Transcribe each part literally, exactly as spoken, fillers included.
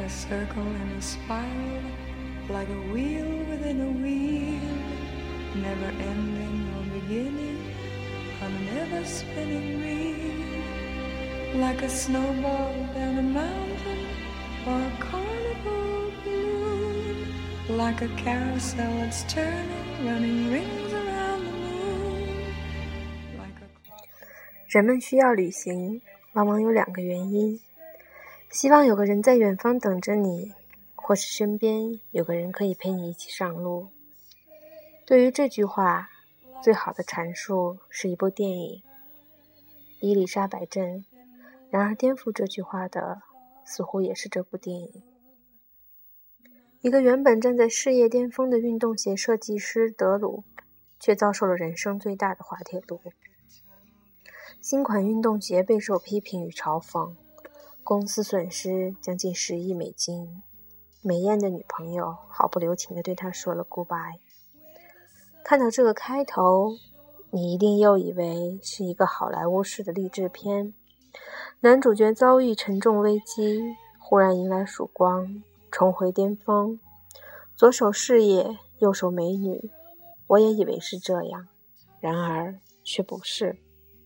a circle and a spiral, like a wheel within a wheel, never ending or beginning on an ever spinning reel, like a snowball down a mountain or a carnival balloon, like a carousel that's turning, running rings around the moon, like a... 人们需要旅行，往往有两个原因：希望有个人在远方等着你，或是身边有个人可以陪你一起上路。对于这句话，最好的阐述是一部电影《伊丽莎白镇》，然而颠覆这句话的似乎也是这部电影。一个原本站在事业巅峰的运动鞋设计师德鲁，却遭受了人生最大的滑铁卢。新款运动鞋备受批评与嘲讽，公司损失将近十亿美金，美艳的女朋友毫不留情地对他说了 goodbye。 看到这个开头，你一定又以为是一个好莱坞式的励志片，男主角遭遇沉重危机，忽然迎来曙光，重回巅峰，左手事业，右手美女。我也以为是这样，然而却不是。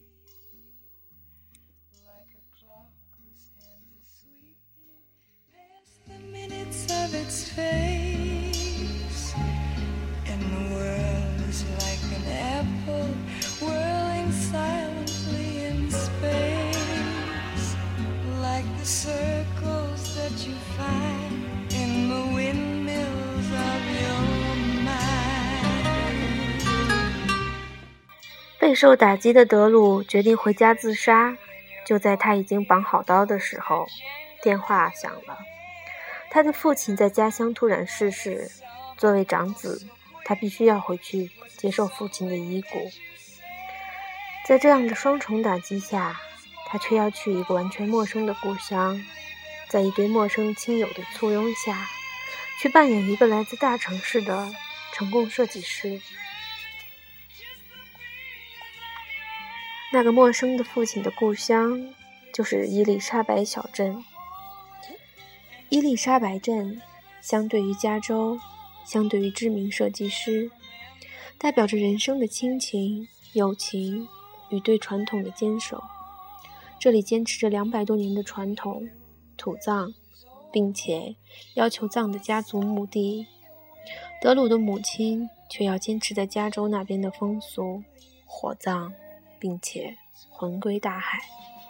Its face, and the world is like an apple whirling silently in space, like the circles that you find in the windmills of your mind. 备受打击的德鲁决定回家自杀，就在他已经绑好刀的时候，电话响了。他的父亲在家乡突然逝世，作为长子，他必须要回去接受父亲的遗骨。在这样的双重打击下，他却要去一个完全陌生的故乡，在一堆陌生亲友的簇拥下，去扮演一个来自大城市的成功设计师。那个陌生的父亲的故乡，就是伊丽莎白小镇。伊丽莎白镇相对于加州，相对于知名设计师，代表着人生的亲情、友情与对传统的坚守。这里坚持着两百多年的传统土葬，并且要求葬的家族墓地。德鲁的母亲却要坚持在加州那边的风俗，火葬，并且魂归大海。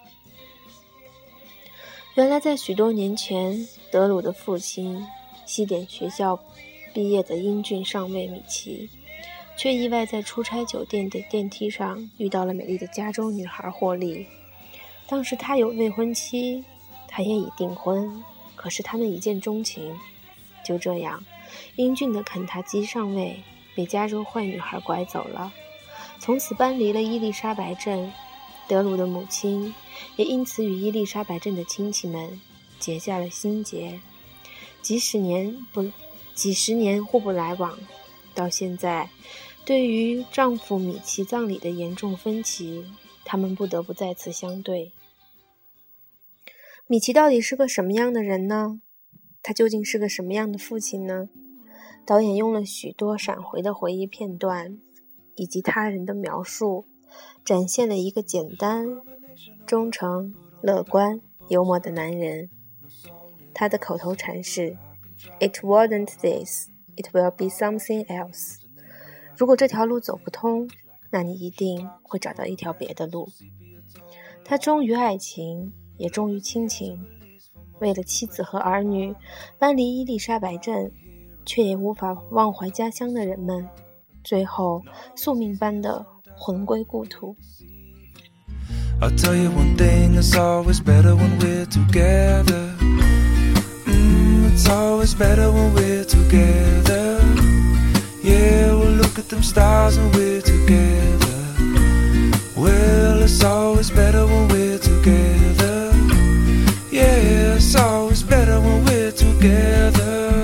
原来在许多年前，德鲁的父亲西点学校毕业的英俊上尉米奇，却意外在出差酒店的电梯上遇到了美丽的加州女孩霍利。当时他有未婚妻，他也已订婚，可是他们一见钟情。就这样，英俊的肯塔基上尉被加州坏女孩拐走了，从此搬离了伊丽莎白镇。德鲁的母亲也因此与伊丽莎白镇的亲戚们结下了心结，几十年不几十年互不来往，到现在，对于丈夫米奇葬礼的严重分歧，他们不得不再次相对。米奇到底是个什么样的人呢？他究竟是个什么样的父亲呢？导演用了许多闪回的回忆片段，以及他人的描述，展现了一个简单、忠诚、乐观、幽默的男人。他的口头禅是 It wasn't this, it will be something else。 如果这条路走不通，那你一定会找到一条别的路。他忠于爱情，也忠于亲情。为了妻子和儿女，搬离伊丽莎白镇，却也无法忘怀家乡的人们，最后宿命般的魂归故土。 I'll tell you one thing, it's always better when we're together. Mm, it's always better when we're together. Yeah, we'll look at them stars and we're together. Well, it's always better when we're together. Yeah, it's always better when we're together.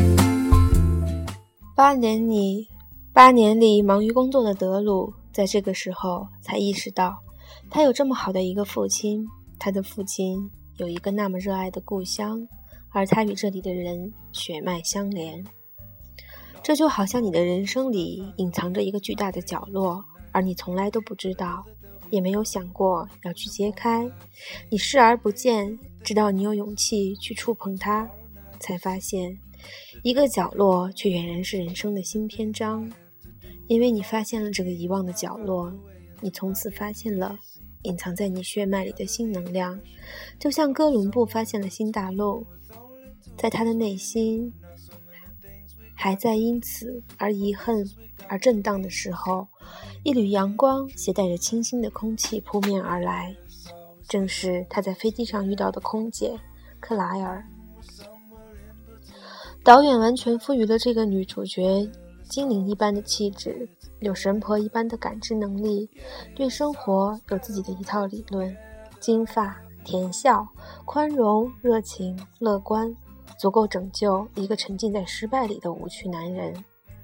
八年里，八年里忙于工作的德鲁，在这个时候才意识到，他有这么好的一个父亲，他的父亲有一个那么热爱的故乡， 而他与这里的人血脉相连。这就好像你的人生里隐藏着一个巨大的角落，而你从来都不知道，也没有想过要去揭开。你视而不见，直到你有勇气去触碰它，才发现一个角落却俨然是人生的新篇章。因为你发现了这个遗忘的角落，你从此发现了隐藏在你血脉里的新能量，就像哥伦布发现了新大陆。在他的内心还在因此而遗恨而震荡的时候，一缕阳光携带着清新的空气扑面而来，正是他在飞机上遇到的空姐克莱尔。导演完全赋予了这个女主角精灵一般的气质，有神婆一般的感知能力，对生活有自己的一套理论，金发、甜笑、宽容、热情、乐观，足够拯救一个沉浸在失败里的无趣男人。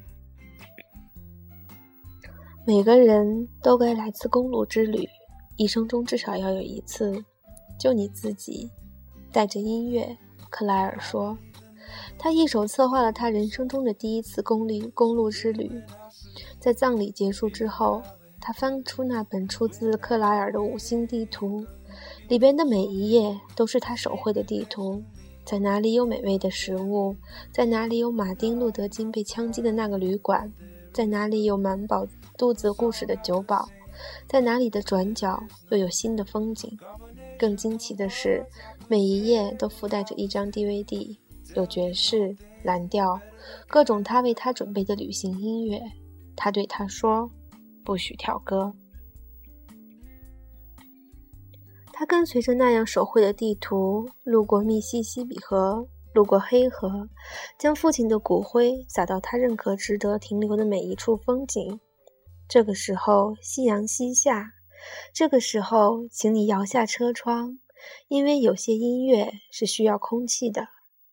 每个人都该来次公路之旅，一生中至少要有一次。就你自己，带着音乐，克莱尔说。他一手策划了他人生中的第一次公路公路之旅。在葬礼结束之后，他翻出那本出自克莱尔的五星地图，里边的每一页都是他手绘的地图。在哪里有美味的食物，在哪里有马丁路德金被枪击的那个旅馆，在哪里有满饱肚子故事的酒保，在哪里的转角又有新的风景。更惊奇的是，每一页都附带着一张 D V D， 有爵士、蓝调，各种他为他准备的旅行音乐。他对他说，不许跳歌。他跟随着那样手绘的地图，路过密西西比河，路过黑河，将父亲的骨灰撒到他认可值得停留的每一处风景。这个时候夕阳西下，这个时候请你摇下车窗，因为有些音乐是需要空气的。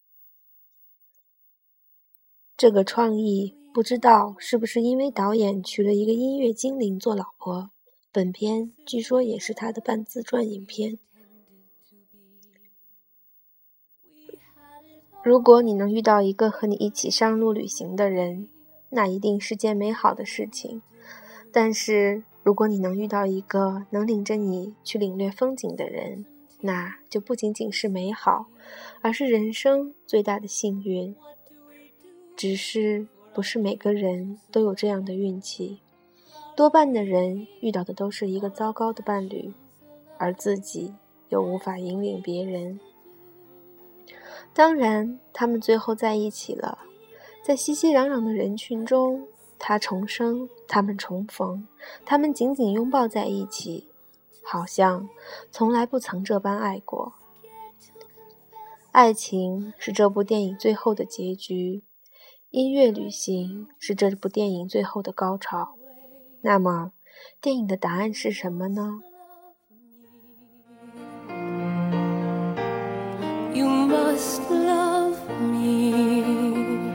这个创意不知道是不是因为导演娶了一个音乐精灵做老婆，本片据说也是他的半自传影片。如果你能遇到一个和你一起上路旅行的人，那一定是件美好的事情。但是如果你能遇到一个能领着你去领略风景的人，那就不仅仅是美好，而是人生最大的幸运。只是不是每个人都有这样的运气，多半的人遇到的都是一个糟糕的伴侣，而自己又无法引领别人。当然他们最后在一起了，在熙熙攘攘的人群中，他重生，他们重逢，他们紧紧拥抱在一起，好像从来不曾这般爱过。爱情是这部电影最后的结局，音乐旅行是这部电影最后的高潮。那么电影的答案是什么呢？ You must love me。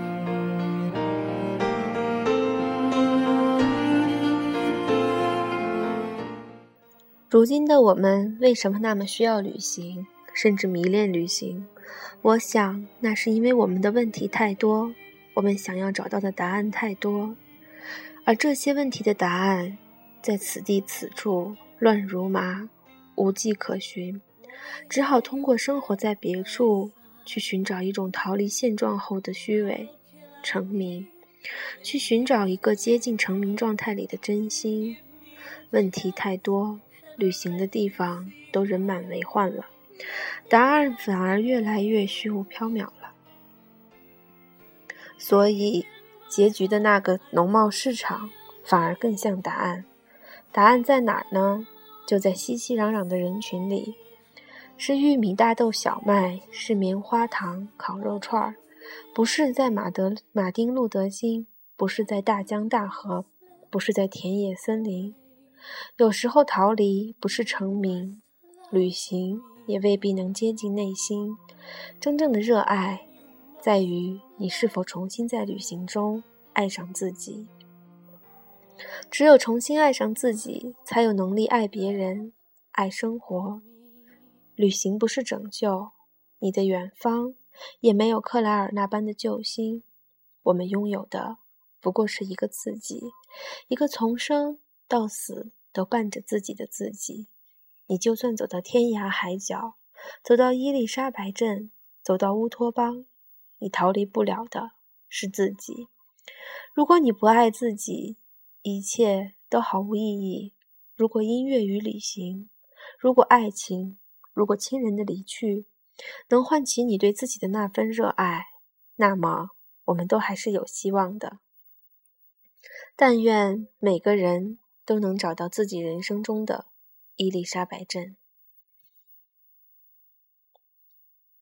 如今的我们为什么那么需要旅行，甚至迷恋旅行？我想那是因为我们的问题太多，我们想要找到的答案太多，而这些问题的答案在此地此处乱如麻，无迹可寻，只好通过生活在别处去寻找一种逃离现状后的虚伪成名，去寻找一个接近成名状态里的真心。问题太多，旅行的地方都人满为患了，答案反而越来越虚无缥缈了。所以结局的那个农贸市场反而更像答案。答案在哪儿呢？就在熙熙攘攘的人群里，是玉米、大豆、小麦，是棉花糖、烤肉串，不是在马德马丁路德金，不是在大江大河，不是在田野森林。有时候逃离不是成名，旅行也未必能接近内心。真正的热爱在于你是否重新在旅行中爱上自己。只有重新爱上自己，才有能力爱别人，爱生活。旅行不是拯救，你的远方也没有克莱尔那般的救星。我们拥有的不过是一个自己，一个从生到死都伴着自己的自己。你就算走到天涯海角，走到伊丽莎白镇，走到乌托邦，你逃离不了的是自己。如果你不爱自己，一切都毫无意义。如果音乐与旅行，如果爱情，如果亲人的离去能唤起你对自己的那份热爱，那么我们都还是有希望的。但愿每个人都能找到自己人生中的伊丽莎白镇。